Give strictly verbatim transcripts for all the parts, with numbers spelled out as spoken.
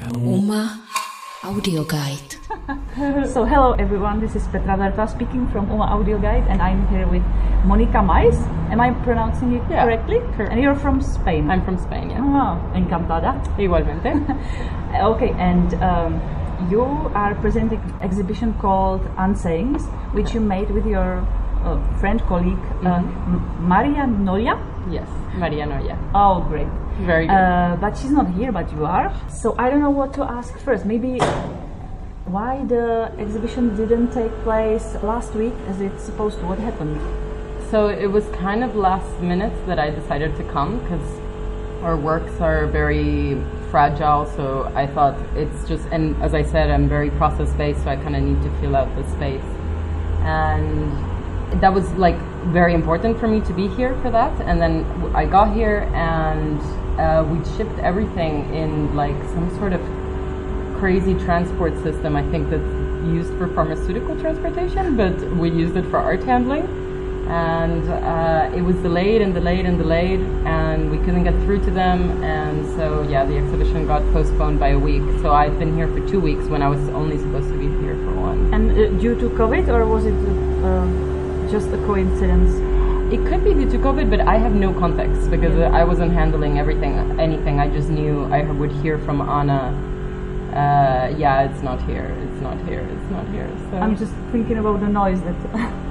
Uma Audio Guide. So hello everyone, this is Petra Verta speaking from Uma Audio Guide, and I'm here with Monica Mais. Am I pronouncing it yeah, correctly? Correct. And you're from Spain? I'm from Spain, yeah. Ah, encantada. Igualmente. Okay, and um, you are presenting an exhibition called Unsayings, which you made with your uh, friend, colleague, uh, Mm-hmm. M- Maria Noya? Yes, Maria Noya. Oh, great. Very good. Uh, but she's not here, but you are. So I don't know what to ask first. Maybe why the exhibition didn't take place last week as it's supposed to? What happened? So it was kind of last minute that I decided to come because our works are very fragile, so I thought it's just, and as I said, I'm very process based, so I kind of need to fill out the space. And that was like very important for me to be here for that. And then I got here and uh, we shipped everything in like some sort of crazy transport system, I think that's used for pharmaceutical transportation, but we used it for art handling. And uh, it was delayed and delayed and delayed, and we couldn't get through to them. And so, yeah, the exhibition got postponed by a week. So I've been here for two weeks when I was only supposed to be here for one. And uh, due to COVID, or was it uh, just a coincidence? It could be due to COVID, but I have no context because yeah. I wasn't handling everything, anything. I just knew I would hear from Anna. Uh, yeah, it's not here. It's not here. It's not here. So I'm just thinking about the noise that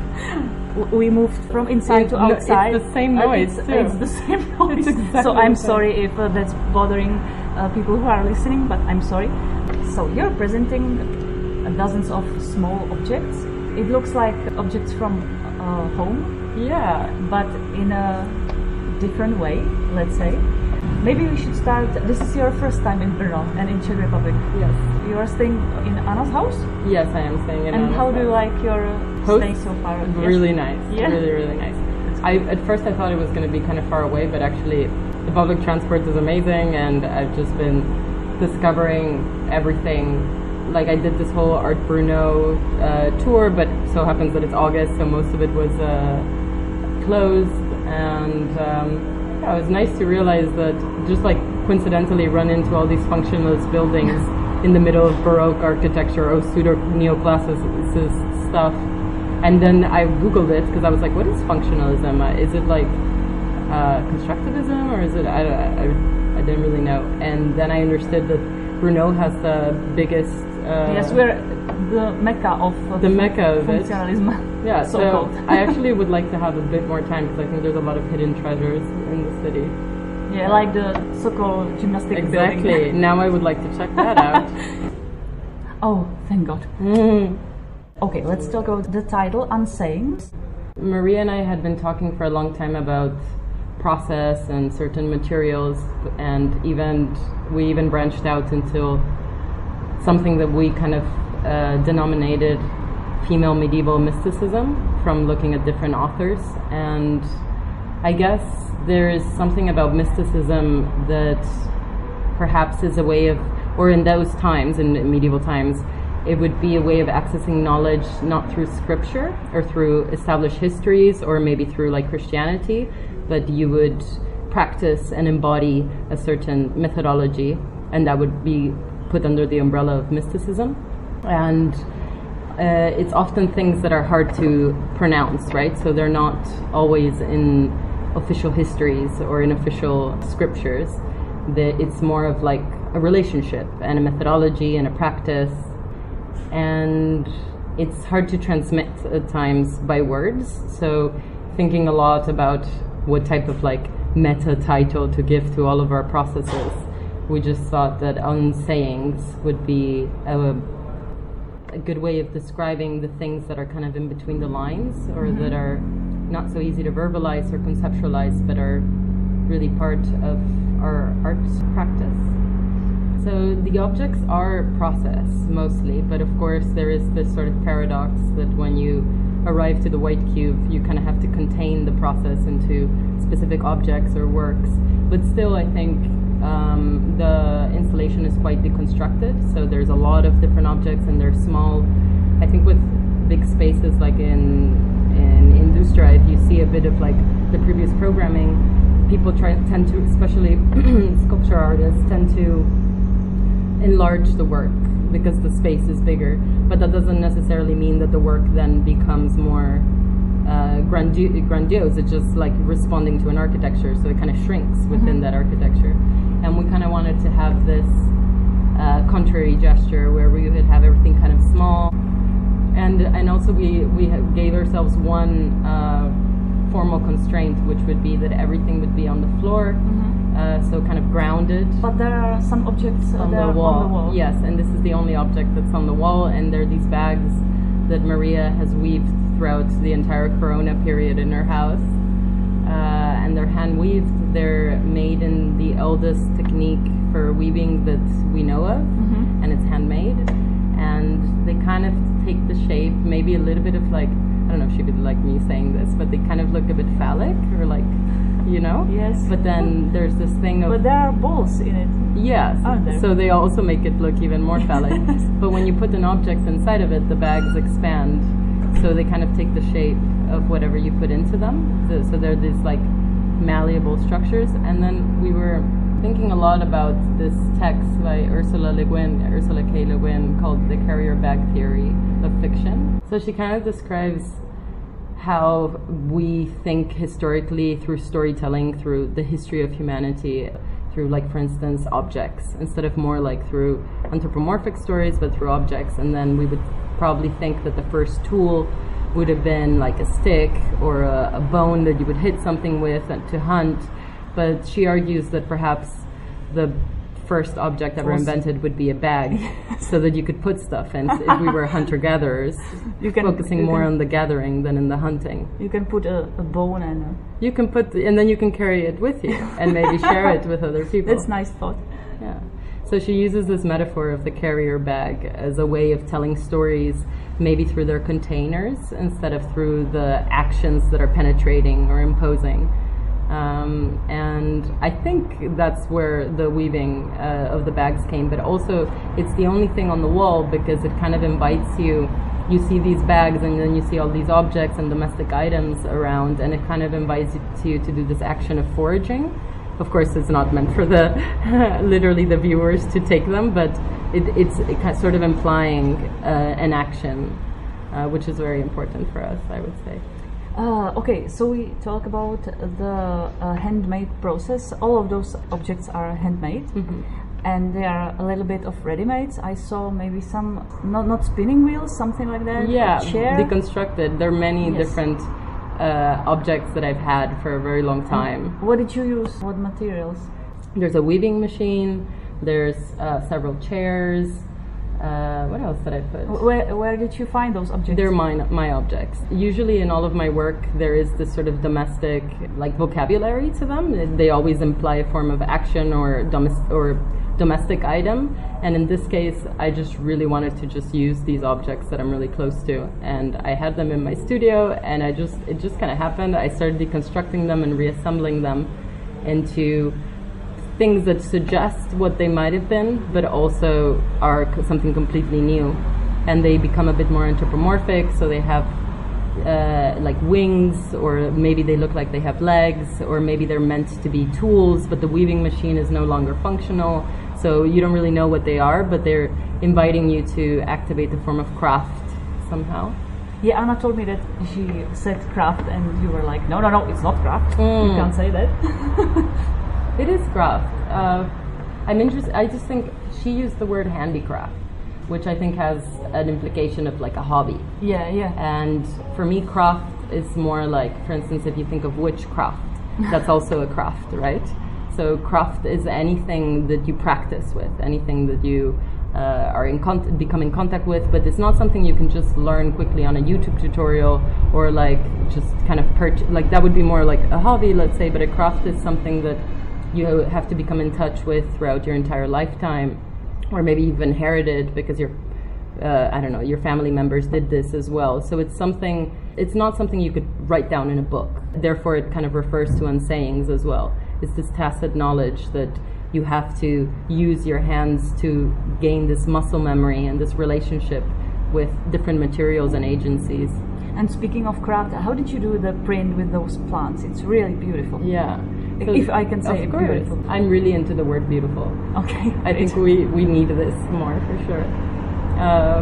we moved from inside it, to outside. It's the same noise. It's, too. it's the same noise. It's exactly so I'm the same. sorry if uh, that's bothering uh, people who are listening, but I'm sorry. So you're presenting uh, dozens of small objects. It looks like objects from uh, home. Yeah, but in a different way, let's say. Maybe we should start. This is your first time in Brno and in Czech Republic. Yes. You are staying in Anna's house? Yes, I am staying in and Anna's how do you house. like your Host? stay so far? Really yes. nice. Yeah. Really, really nice. I at first I thought it was going to be kind of far away, but actually the public transport is amazing, and I've just been discovering everything. Like I did this whole Art Brno uh, tour, but so happens that it's August, so most of it was uh, closed, and um, yeah, it was nice to realize that just like coincidentally run into all these functionalist buildings in the middle of Baroque architecture or pseudo neoclassicist stuff. And then I googled it because I was like, what is functionalism? Uh, is it like uh, constructivism, or is it, I, I, I didn't really know. And then I understood that Brno has the biggest uh, yes, we're the mecca of uh, the mecca of functionalism. Yeah, so, so I actually would like to have a bit more time because I think there's a lot of hidden treasures in the city. Yeah, like the Sokol gymnastic exactly. building. Exactly. Now I would like to check that out. Oh, thank God. Mm. Okay, let's talk about the title, Unsayings. Maria and I had been talking for a long time about process and certain materials, and even we even branched out into something that we kind of uh, denominated female medieval mysticism from looking at different authors. And I guess there is something about mysticism that perhaps is a way of, or in those times, in medieval times, it would be a way of accessing knowledge not through scripture or through established histories or maybe through like Christianity, but you would practice and embody a certain methodology, and that would be put under the umbrella of mysticism. And uh, it's often things that are hard to pronounce, right? So they're not always in official histories or in official scriptures. The, it's more of like a relationship and a methodology and a practice, and it's hard to transmit at times by words. So thinking a lot about what type of like meta title to give to all of our processes, we just thought that unsayings would be a, a good way of describing the things that are kind of in between the lines, or mm-hmm. that are not so easy to verbalize or conceptualize, but are really part of our art practice. So the objects are process mostly, but of course there is this sort of paradox that when you arrive to the white cube, you kind of have to contain the process into specific objects or works. But still, I think um, the installation is quite deconstructed, so there's a lot of different objects and they're small. I think with big spaces like in, in Industra, if you see a bit of like the previous programming, people try tend to, especially sculpture artists, tend to enlarge the work because the space is bigger. But that doesn't necessarily mean that the work then becomes more uh, grandio- grandiose. It's just like responding to an architecture, so it kind of shrinks within mm-hmm. that architecture. And we kind of wanted to have this uh, contrary gesture where we would have everything kind of small. And and also we, we gave ourselves one uh, formal constraint, which would be that everything would be on the floor, mm-hmm. uh, so kind of grounded. But there are some objects on, there the wall. on the wall. Yes, and this is the only object that's on the wall, and there are these bags that Maria has weaved throughout the entire Corona period in her house. Uh, and they're hand weaved. They're made in the eldest technique for weaving that we know of, mm-hmm. and it's handmade. And they kind of take the shape, maybe a little bit of like, I don't know if she would like me saying this, but they kind of look a bit phallic or like, you know? Yes. But then there's this thing of... But there are balls in it. Yes. Aren't there? So they also make it look even more phallic. But when you put an object inside of it, the bags expand. So they kind of take the shape of whatever you put into them. So, so they're these like malleable structures. And then we were thinking a lot about this text by Ursula Le Guin, Ursula K. Le Guin, called The Carrier Bag Theory of Fiction. So she kind of describes how we think historically through storytelling, through the history of humanity, through, like, for instance, objects, instead of more like through anthropomorphic stories, but through objects. And then we would probably think that the first tool would have been like a stick or a, a bone that you would hit something with to hunt. But she argues that perhaps the first object ever invented would be a bag, so that you could put stuff in. If we were hunter-gatherers, you can, focusing you more can, on the gathering than in the hunting. You can put a, a bone and a... You can put, the, and then you can carry it with you and maybe share it with other people. That's a nice thought. Yeah. So she uses this metaphor of the carrier bag as a way of telling stories, maybe through their containers instead of through the actions that are penetrating or imposing. Um, and I think that's where the weaving uh, of the bags came, but also it's the only thing on the wall because it kind of invites you. You see these bags and then you see all these objects and domestic items around, and it kind of invites you to do this action of foraging. Of course, it's not meant for the literally the viewers to take them, but it, it's it kind of sort of implying uh, an action, uh, which is very important for us, I would say. Uh, okay, so we talk about the uh, handmade process. All of those objects are handmade, mm-hmm. and they are a little bit of ready-mades. I saw maybe some, not not spinning wheels, something like that. Yeah, chair. Deconstructed. There are many yes. different uh, objects that I've had for a very long time. And what did you use? What materials? There's a weaving machine. There's uh, several chairs. Uh, what else did I put? Where where did you find those objects? They're mine, my objects. Usually in all of my work there is this sort of domestic like vocabulary to them. They always imply a form of action or domestic or domestic item, and in this case I just really wanted to just use these objects that I'm really close to, and I had them in my studio, and I just it just kind of happened. I started deconstructing them and reassembling them into things that suggest what they might have been, but also are co- something completely new. And they become a bit more anthropomorphic, so they have uh, like wings, or maybe they look like they have legs, or maybe they're meant to be tools, but the weaving machine is no longer functional, so you don't really know what they are, but they're inviting you to activate the form of craft somehow. Yeah, Anna told me that she said craft, and you were like, no, no, no, it's not craft. Mm. You can't say that. It is craft. Uh, I'm interested. I just think she used the word handicraft, which I think has an implication of like a hobby. Yeah, yeah. And for me, craft is more like, for instance, if you think of witchcraft, that's also a craft, right? So craft is anything that you practice with, anything that you uh, are in con- become in contact with, but it's not something you can just learn quickly on a YouTube tutorial or like just kind of purchase. Like that would be more like a hobby, let's say, but a craft is something that you have to become in touch with throughout your entire lifetime, or maybe you've inherited because your, uh, I don't know, your family members did this as well. So it's something, it's not something you could write down in a book. Therefore, it kind of refers to unsayings as well. It's this tacit knowledge that you have to use your hands to gain this muscle memory and this relationship with different materials and agencies. And speaking of craft, how did you do the print with those plants? It's really beautiful. Yeah. So if I can say of course. beautiful. I'm really into the word beautiful. Okay. I think we, we need this more for sure. Uh,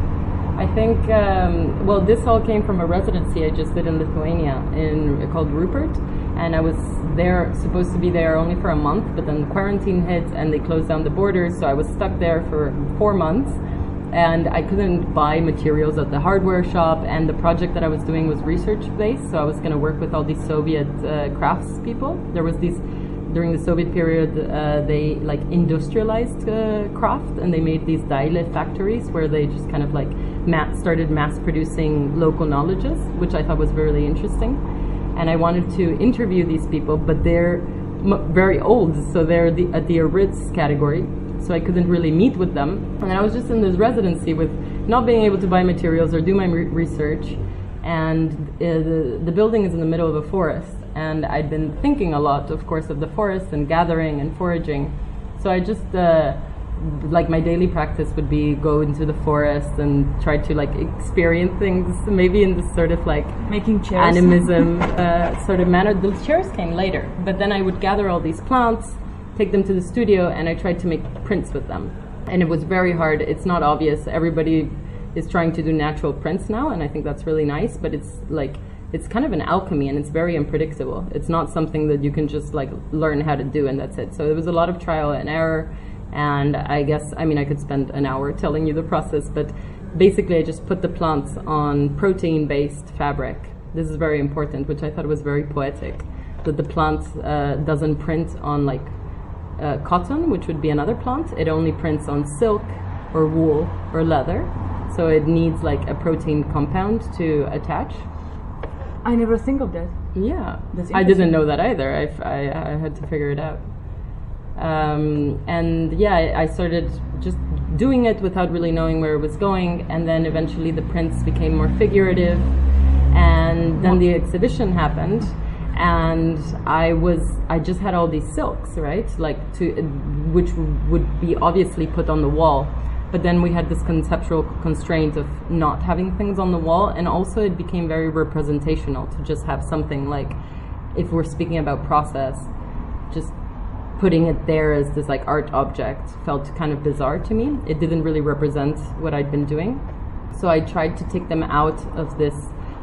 I think, um, well, this all came from a residency I just did in Lithuania in called Rupert. And I was there, supposed to be there only for a month, but then quarantine hit and they closed down the borders. So I was stuck there for four months. And I couldn't buy materials at the hardware shop, and the project that I was doing was research-based, so I was going to work with all these Soviet uh, crafts people. There was these, during the Soviet period, uh, they like industrialized uh, craft, and they made these Daile factories where they just kind of like ma- started mass-producing local knowledges, which I thought was really interesting. And I wanted to interview these people, but they're m- very old, so they're the, at the Eritz category. So I couldn't really meet with them. And I was just in this residency with not being able to buy materials or do my re- research. And uh, the, the building is in the middle of a forest. And I'd been thinking a lot, of course, of the forest and gathering and foraging. So I just, uh, like my daily practice would be go into the forest and try to like experience things, maybe in this sort of like making chairs. animism uh, sort of manner. The chairs came later. But then I would gather all these plants, take them to the studio, and I tried to make prints with them. And it was very hard. It's not obvious. Everybody is trying to do natural prints now, and I think that's really nice, but it's like, it's kind of an alchemy, and it's very unpredictable. It's not something that you can just like learn how to do and that's it. So there was a lot of trial and error, and I guess, I mean, I could spend an hour telling you the process, but basically I just put the plants on protein-based fabric. This is very important, which I thought was very poetic, that the plant uh, doesn't print on like Uh, cotton, which would be another plant. It only prints on silk or wool or leather, so it needs like a protein compound to attach. I never think of that. Yeah, That's I didn't know that either. I, I, I had to figure it out. Um, and yeah, I, I started just doing it without really knowing where it was going, and then eventually the prints became more figurative, and then the exhibition happened. And I was, I just had all these silks, right? Like to, which would be obviously put on the wall. But then we had this conceptual constraint of not having things on the wall. And also it became very representational to just have something like, if we're speaking about process, just putting it there as this like art object felt kind of bizarre to me. It didn't really represent what I'd been doing. So I tried to take them out of this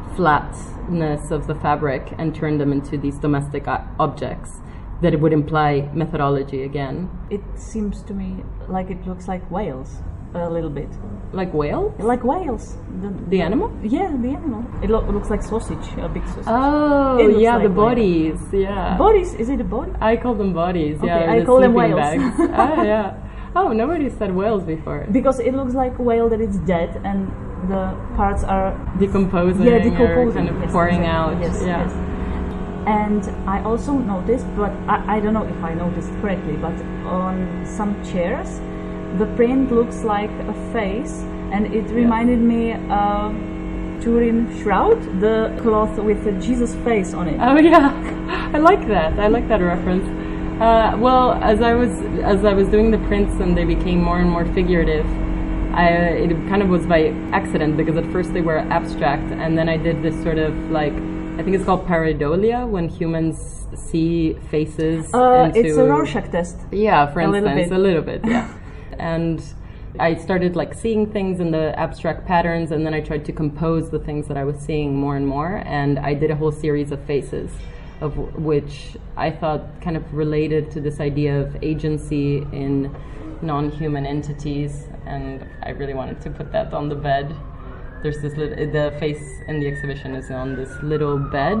flatness of the fabric and turn them into these domestic objects that it would imply methodology again. It seems to me like it looks like whales a little bit. Like whale? Like whales. The, the animal? Yeah, the animal. It lo- looks like sausage, a big sausage. Oh, yeah, like the bodies. Whale. Yeah. Bodies? Is it a body? I call them bodies. Okay, yeah, I the call them whales. Bags. Oh, yeah. Oh, nobody said whales before. Because it looks like a whale that is dead and the parts are decomposing, yeah, decomposing, or kind of yes, pouring exactly. out. Yes, yeah. yes. And I also noticed, but I, I don't know if I noticed correctly, but on some chairs, the print looks like a face, and it reminded yeah. me of Turin Shroud, the cloth with the Jesus face on it. Oh yeah, I like that. I like that reference. Uh, well, as I was as I was doing the prints and they became more and more figurative, I, it kind of was by accident, because at first they were abstract, and then I did this sort of like, I think it's called pareidolia, when humans see faces. Uh, into, it's a Rorschach test. Yeah, for a instance, little bit. a little bit, yeah. And I started like seeing things in the abstract patterns, and then I tried to compose the things that I was seeing more and more, and I did a whole series of faces, of w- which I thought kind of related to this idea of agency in non-human entities, and I really wanted to put that on the bed. There's this little, the face in the exhibition is on this little bed.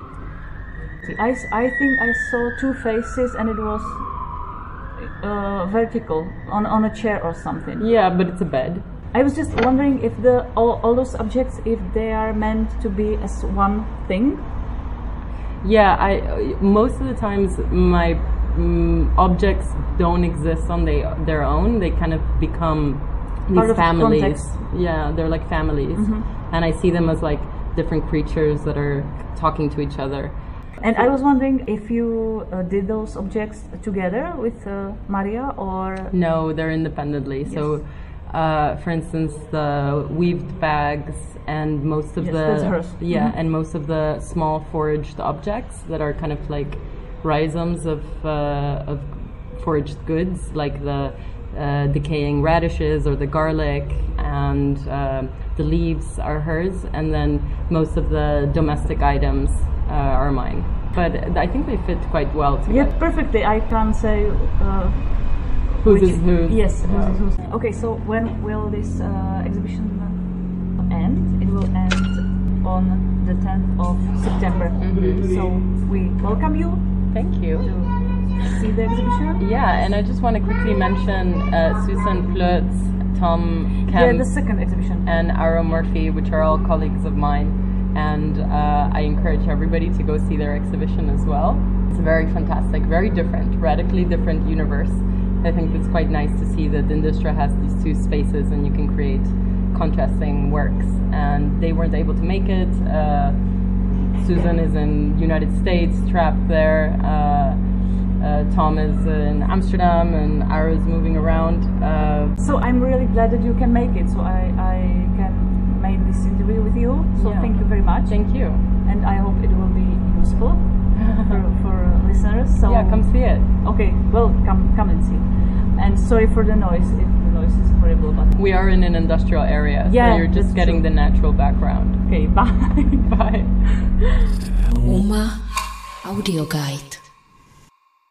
I, I think I saw two faces, and it was uh, vertical on, on a chair or something. Yeah, but it's a bed. I was just wondering if the all, all those objects, if they are meant to be as one thing. Yeah, I most of the times my um, objects don't exist on they, their own. They kind of become these Part of families. Context. Yeah, they're like families, mm-hmm. and I see them as like different creatures that are talking to each other. And I was wondering if you uh, did those objects together with uh, Maria, or no, they're independently. Yes. So, uh, for instance, the weaved bags and most of yes, the that's hers. yeah, mm-hmm. and most of the small foraged objects that are kind of like rhizomes of uh, of foraged goods, like the uh, decaying radishes or the garlic, and uh, the leaves are hers, and then most of the domestic items uh, are mine. But I think they fit quite well together. Yeah, perfectly. I can't say uh, whose which, is whose. Yes, Wow. whose is whose. Okay, so when will this uh, exhibition end? It will end on the tenth of September. Mm-hmm. So we welcome you Thank you. to see the exhibition. Yeah, and I just want to quickly mention uh, Susan Plutz, Tom Yeah, Kemp, the second exhibition. and Aro Murphy, which are all colleagues of mine. And uh, I encourage everybody to go see their exhibition as well. It's very fantastic, very different, radically different universe. I think it's quite nice to see that Industra has these two spaces and you can create contrasting works. And they weren't able to make it. Uh, Susan is in United States, trapped there. Uh, uh, Tom is in Amsterdam, and Aro is moving around. Uh, So I'm really glad that you can make it. So I, I can make this interview with you. So Yeah. thank you very much. thank you. And I hope it will be useful for, for listeners. So Yeah, come see it. Okay, well, come come and see. And sorry for the noise if the noise is horrible, but We are in an industrial area, Yeah, so you're just that's getting true. the natural background. okay, bye. Bye. Uma Audio Guide.